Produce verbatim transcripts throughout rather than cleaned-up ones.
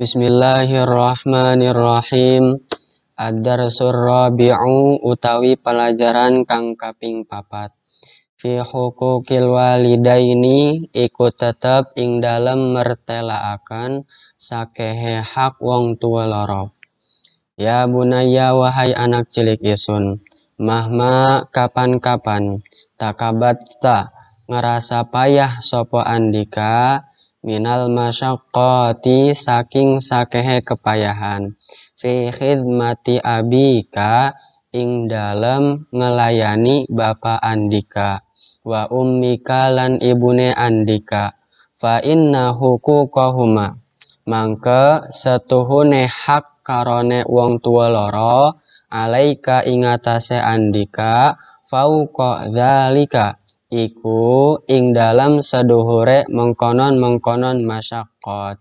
Bismillahirrahmanirrahim. Ad-darsur rabi'u utawi pelajaran kang kaping papat. Fi huquqil walidaini iku tetep ing dalem mertelaaken sakehe hak wong tua loro. Ya bunaya wahai anak cilik isun, mahma kapan-kapan takabatta ngerasa payah sopo andika minal masyaqqati saking sakehe kepayahan fi khidmati abika ing dalem ngelayani bapa andika wa ummika lan ibune andika fa inna huquqahuma mangke setuhune hak karone wong tua loro alaika ingatase andika fauqa dzalika iku ing dalam seduhure mengkonon-mengkonon masyaqqat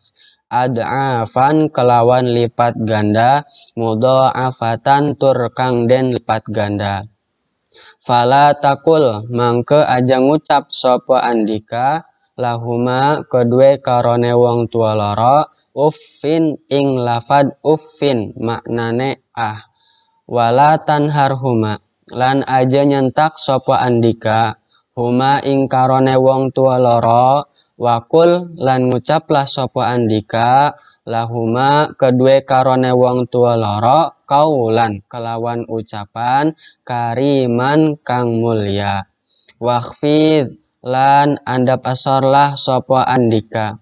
ad'afan kelawan lipat ganda mudha'afatan tur kang den lipat ganda. Fala takul mangke aja ngucap sapa andika lahuma kedue karone wong tua loro uffin ing lafad uffin maknane ah wala tanharhuma lan aja nyentak sapa andika huma ing karone wong tua loro wakul lan ngucaplah sapa andika lahuma kedue karone wong tua loro kaulan kelawan ucapan kariman kang mulya wakhfid lan andap asorlah sapa andika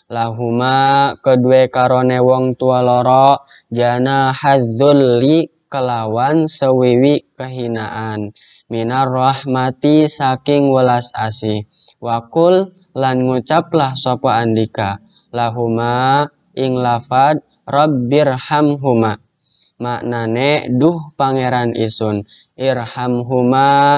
lahuma kedue karone wong tua loro jana hadzulli kelawan sewiwi kehinaan minar rahmati saking welas asih wakul lan ngucaplah sapa andika lahuma ing lafad rabbirhamhuma maknane duh pangeran isun irhamhuma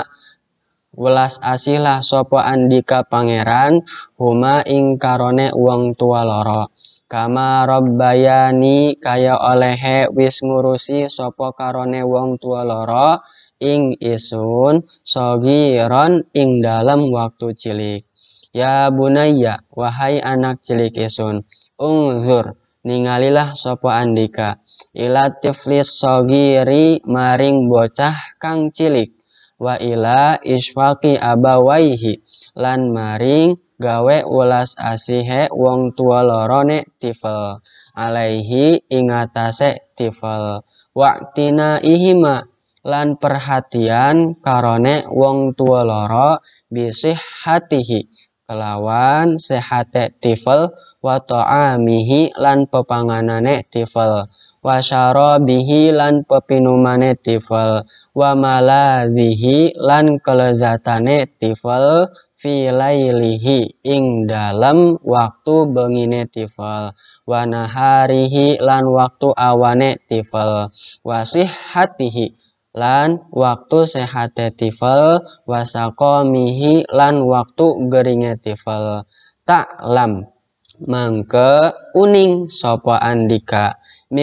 welas asihlah sapa andika pangeran huma ing karone wong tua loro kama rabbayani kaya olehe wis ngurusi sapa karone wong tua loro ing isun sogiron ing dalam waktu cilik. Ya bunaya wahai anak cilik isun ungzur ningalilah sapa andika ila tiflis sogiri maring bocah kang cilik wa ila isfaqi abawaihi lan maring gawe ulas asihe wong tua lorone tifel alaihi ingatase tifel waktina ihima lan perhatian karone wong tua loro bisih hatihi kelawan sehate tifel wa ta'amihi lan pepanganane tifel wa syarabihi lan pepinumane tifel wa maladhihi lan kelezatane tifel fi lailihi ing dalam waktu bengine tifel wa naharihi lan waktu awane tifel wa sihhatihi lan waktu sehate tifel wa saqamihi lan waktu geringe tifel ta'lam mangke uning sapa andika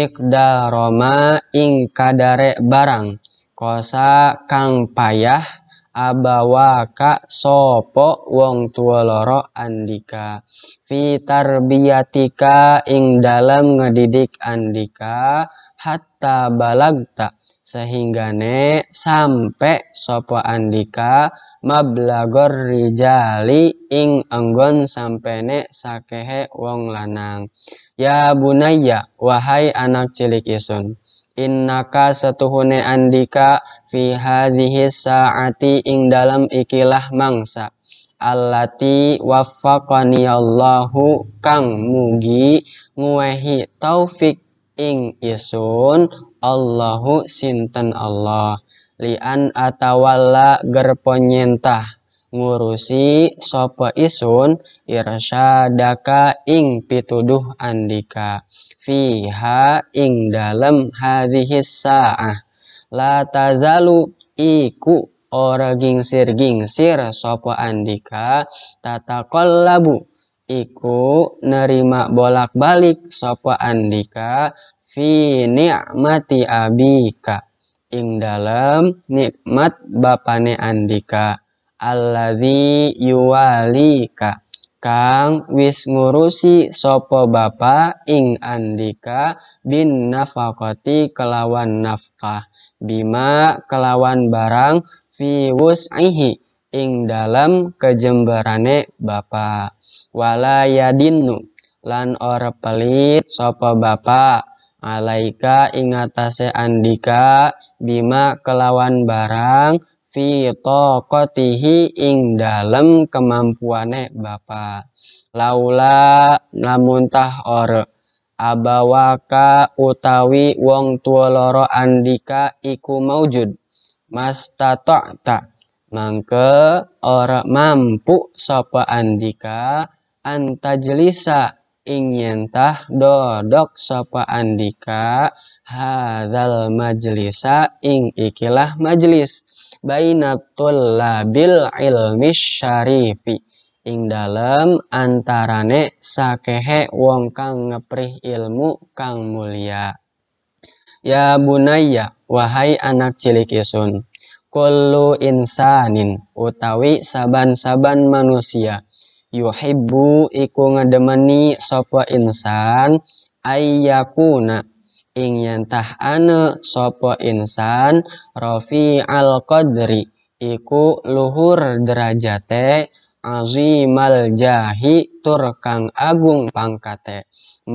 miqdaroma ing kadare barang kosa kang payah abawaka sopo wong tua loro andika fi tarbiyatika ing dalam ngedidik andika hatta balagta sehinggane sampai sopo andika mablagor rijali ing anggon sampene sakehe wong lanang. Ya bunaya wahai anak cilik isun innaka setuhune andika fi hadhihi saati ing dalam ikilah mangsa allati waffaqani Allahu kang mugi nguehi taufik ing isun Allahu sinten Allah lian atawalla gerponyentah ngurusi sopo isun irsyadaka ing pituduh andika fiha ing dalem hadhis sa'ah la tazalu iku ora gingsir-gingsir sopo andika tataqallabu iku nerima bolak-balik sopo andika fi ni'mati abika ing dalem nikmat bapane andika alladzi yuwalika kang wis ngurusi sapa bapa ing Andika bin nafaqati kelawan nafkah, bima kelawan barang fi wus'ihi ing dalam kejemberane bapa, wala yadinnu lan ora pelit sapa bapa alaika ing atase Andika bima kelawan barang fi taqatihi ing dalem kemampuane bapa, laula lamun tah ora abawaka utawi wong tua loro Andika iku maujud mastata'ta mangke ora mampu sapa Andika antajlisa ing yentah dodok sapa Andika hadzal majlisa ing ikilah majlis bainatul labil ilmi syarifi ing dalem antarane sakehe wong kang ngeprih ilmu kang mulia. Ya bunayya wahai anak cilik isun, kullu insanin utawi saban-saban manusia yuhibbu iku ngedemeni sapa insan ayyakuna ing yentah ane sapa insan rafi al qadri iku luhur derajate azimal jahi tur kang agung pangkate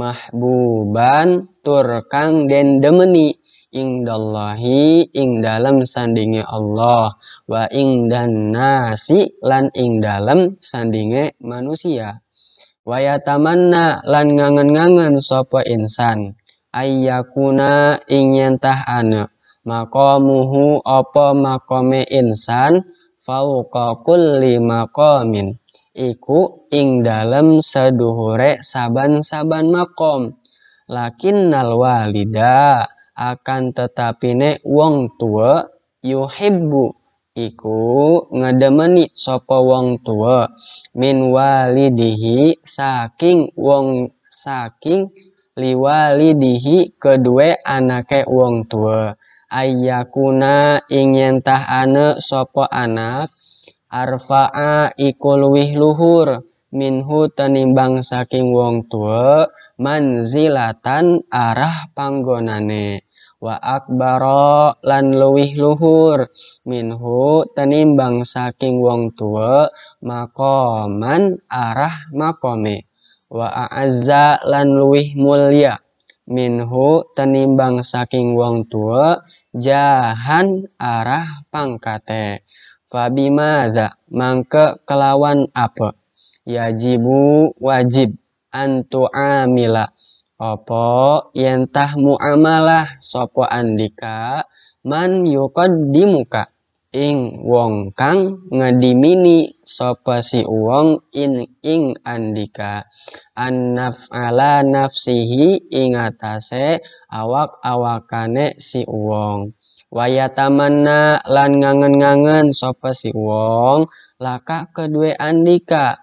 mahbuban tur kang den demeni ing dallahi ing dalem sandinge Allah wa ing dan nasi lan ing dalem sandinge manusia wa yatamanna lan ngangen-ngangen sapa insan ayyakuna ing yentah ane maqamuhu apa makome insan fauqa kulli maqamin iku ing dalem seduhure saban-saban makom, lakinnal walida akan tetapine wong tua yuhibbu iku ngedemeni sapa wong tua min walidihi saking wong saking liwalidihi kedue anake wong tua ayyakuna ing yentah ane sapa anak arfa'a iku luwih luhur minhu tenimbang saking wong tua manzilatan arah panggonane wa akbaro lan luwih luhur minhu tenimbang saking wong tua makoman arah makome wa a'azza lan luwih mulya minhu tenimbang saking wong tua jahan arah pangkate fabimadza mangke kelawan apa yajibu wajib antu amila apa yentah muamalah sapa Andika man yuqaddimuka ing wong kang ngedimini sapa si wong in ing Andika annaf ala nafsihi ing atase awak-awakane si wong wayatamanna lan ngangen-ngangen sapa si wong laka kedue Andika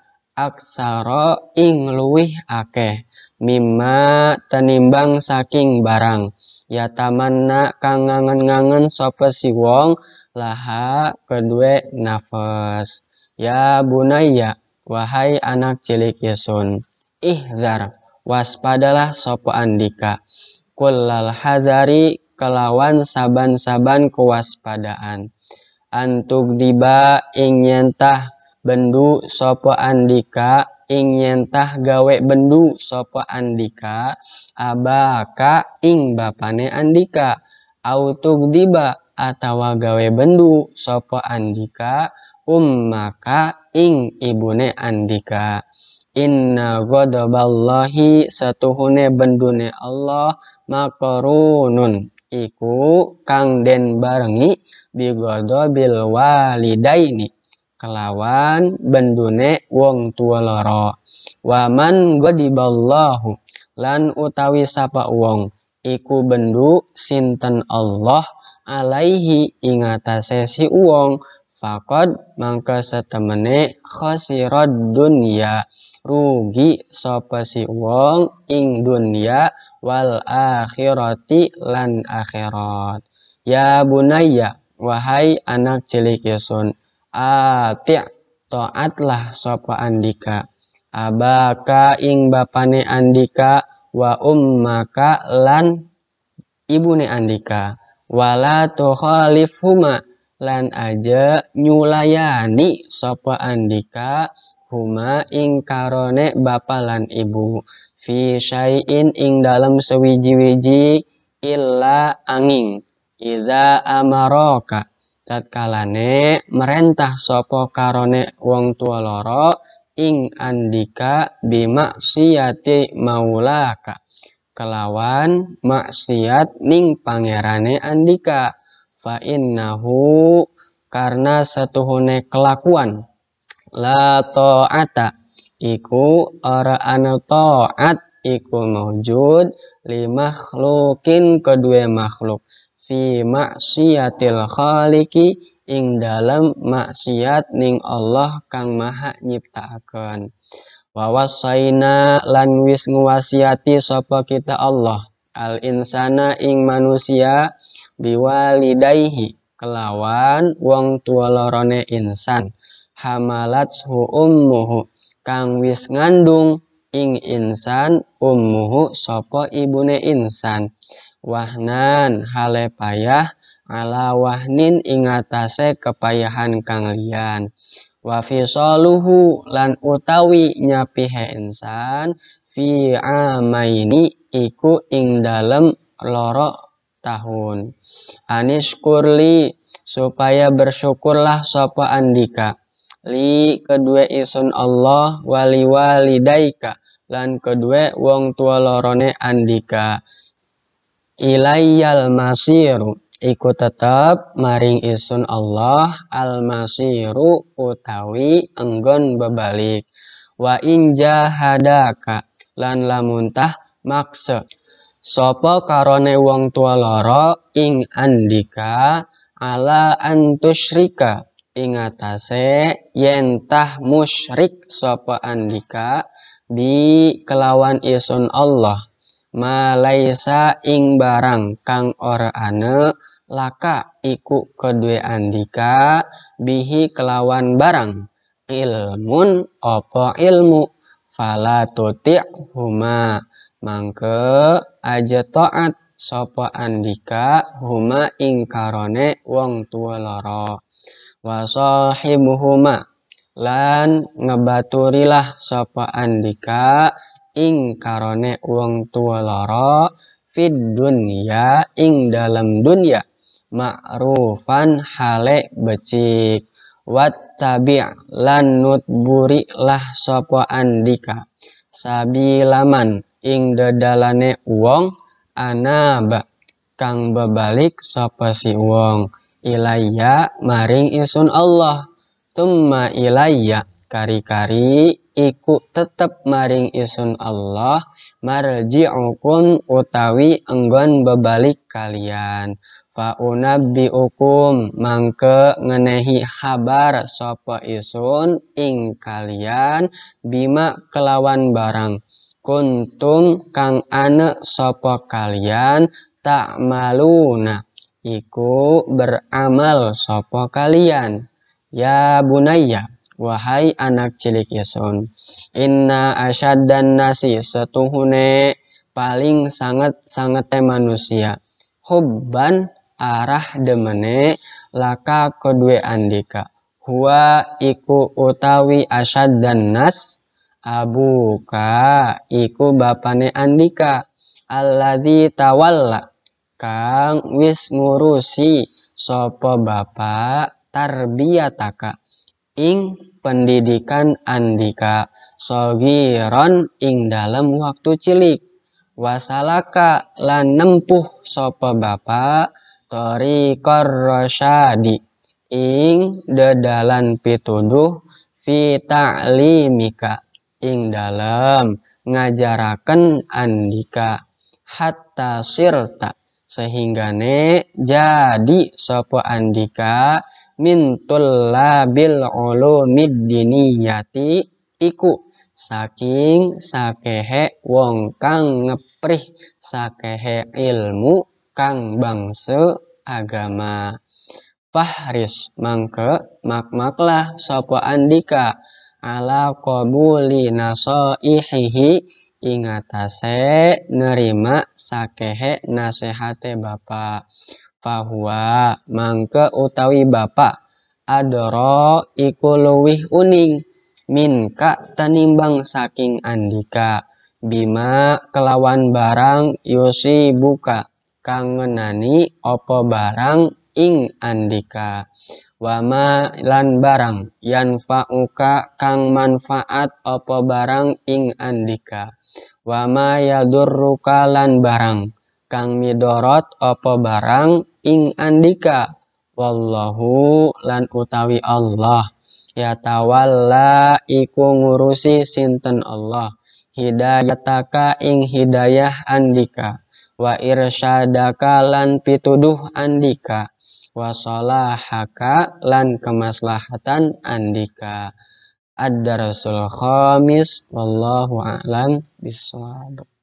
aksara ing luwih akeh mimma tenimbang saking barang yatamanna kang ngangen-ngangen sapa si wong laha kedue nafas. Ya bunayya wahai anak cilik yesun ihzar waspadalah sapa Andika kullal hadari kelawan saban-saban kewaspadaan antug diba ing yentah bendu sapa Andika ing yentah gawe bendu sapa Andika abaka ing bapane Andika autug diba atawa gawe bendu sapa Andika ummaka ing ibune Andika inna ghadaballahi satuhune bendune Allah makarunun iku kang den barengi bighadabil walidaini kelawan bendune wong tua loro waman ghadiballahu lan utawi sapa wong iku bendu sinten Allah alaihi ing atase si wong faqad mangka setemene khasirad dunya rugi sapa si wong ing dunya wal akhirati lan akhirat. Ya bunayya wahai anak cilik yesun ati' taatlah sapa Andika abaka ing bapane Andika wa ummaka lan ibune Andika wala tukhalifhuma lan aja nyulayani sapa Andika huma ing karone bapa lan ibu fi syai'in ing dalam sewiji-wiji illa angin iza amaraka tatkalane merentah sapa karone wong tua loro ing Andika bimaksiyati maulaka kelawan maksiat ning pangerane Andika fa innahu karena satuhune kelakuan la ta'ata iku ora ana ta'at iku maujud li makhlukin kedua makhluk fi maksiatil khaliqi ing dalam maksiat ning Allah kang maha nyiptaaken. Wa wasaina lan wis nguwasiati sapa kita Allah al insana ing manusia biwalidayhi kelawan wong tua lorone insan hamalathu ummuhu kang wis ngandung ing insan ummuhu sapa ibune insan wahnan hale payah ala wahnin ing atase kepayahan kang liyan wa fisaluhu lan utawi nyapihe insan fi amaini iku ing dalem loro tahun anishkurli supaya bersyukurlah sapa Andika li kedua isun Allah wali walidaika lan kedua wong tua lorone Andika ilayyal masiru iku tetap maring isun Allah al masiru utawi enggon bebalik wa in jahadaka lan lamuntah maksa sapa karone wong tua loro ing Andika ala antusyrika ing atase yen tah musyrik sapa Andika bi kelawan isun Allah malaisa ing barang kang ora ane laka iku kedue Andika bihi kelawan barang ilmun opo ilmu fala tuti' huma mangke aja taat sapa Andika huma ing karone wong tua loro wa sahibuhuma lan ngebaturilah sapa Andika ing karone wong tua loro fid dunya ing dalam dunya ma'rufan hale becik wattabi' lan nutburi lah sapa Andika sabilaman ing dedalane wong anaba kang bebalik sapa si wong ilayya maring isun Allah summa ilayya kari-kari iku tetep maring isun Allah marji'ukum utawi enggon bebalik kalian fa unabbiukum mangke ngenehi kabar sapa isun ing kalian bima kelawan barang kuntum kang ane sapa kalian ta'maluna iku beramal sapa kalian ya bunayya wahai anak cilik isun inna asyaddan nasi setuhune paling sangat-sangat manusia hubban arah demene laka kedue Andika huwa iku utawi asyaddan nas abuka iku bapane Andika allazi tawalla kang wis ngurusi sapa bapak tarbiyataka ing pendidikan Andika sogiron ing dalam waktu cilik wasalaka lan nempuh sapa bapak thoriqor rasyadi ing dedalan pituduh fi ta'limika ing dalam ngajaraken Andika hatta sirta sehinggane jadi sapa Andika mintul labil ulumid diniyati iku saking sakehe wong kang ngeprih sakehe ilmu kang bangsa agama fahris mangke makmaklah sapa Andika ala qabuli nasaihihi ingatase nerima sakehe nasehate bapa. Fahuwa mangke utawi bapa adoro iku luwih uning minka tanimbang saking andika bima kelawan barang yusi buka kang ngenani opo barang ing andika wama lan barang yanfa'uka kang manfaat opo barang ing andika wama yadurruka lan barang kang midorot opo barang ing andika wallahu lan utawi Allah yatawalla iku ngurusi sinten Allah hidayataka ing hidayah andika wa irsyadaka lan pituduh andika wa sholahaka lan kemaslahatan andika. Ad-darasul khamis wallahu a'lam bishawab.